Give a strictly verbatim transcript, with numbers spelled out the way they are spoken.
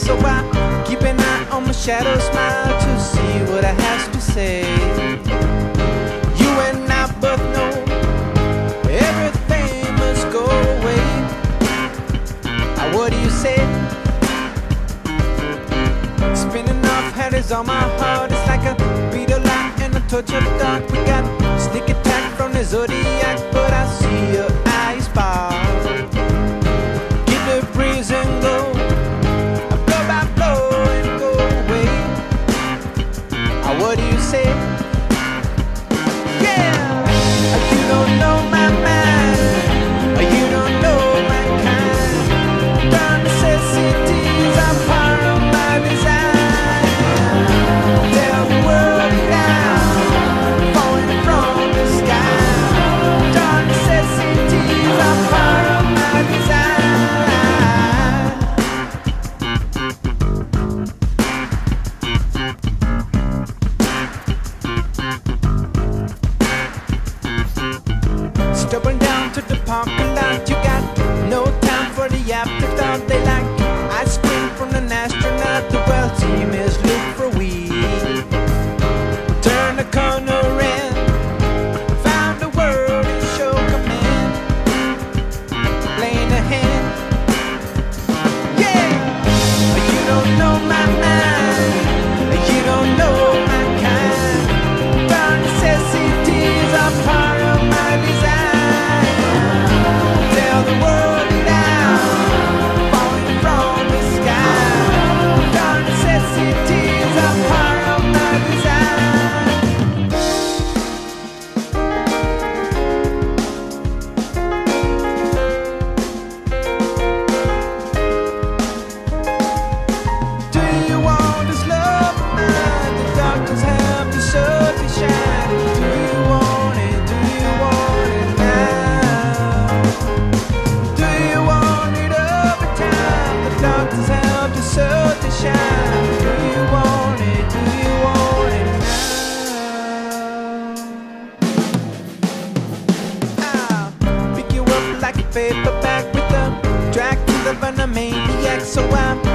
So I keep an eye on my shadow, smile to see what I have to say. You and I both know everything must go away. Now what do you say? Spinning off head is on my heart. It's like a beat of light and a touch of dark. We got sneak attack from the zodiac, but I see your eyes bar. Get the breeze and go, blow by blow and go away. Now what do you say? Yeah, you don't know my mind, you don't know my kind. The necessities are part of my design. Tell the world now, falling from the sky. The necessities are part of my design. Stepping down to the parking lot, you got no time for the afterthought. They like ice cream from an astronaut. The world team is look for weed. Turn the corner in, found the world in show command. Playing a hand, yeah. You don't know my mind, you don't know my kind. The necessities are part of my design. Tell the world now, falling from the sky. The necessities are part of my design. Do you want this love of mine? The doctors have to show to shine. Do you want it? Do you want it now? Do you want it over time? The doctors have to show to shine. Do you want it? Do you want it now? I'll pick you up like a paperback with a Dracula and a maniac. So I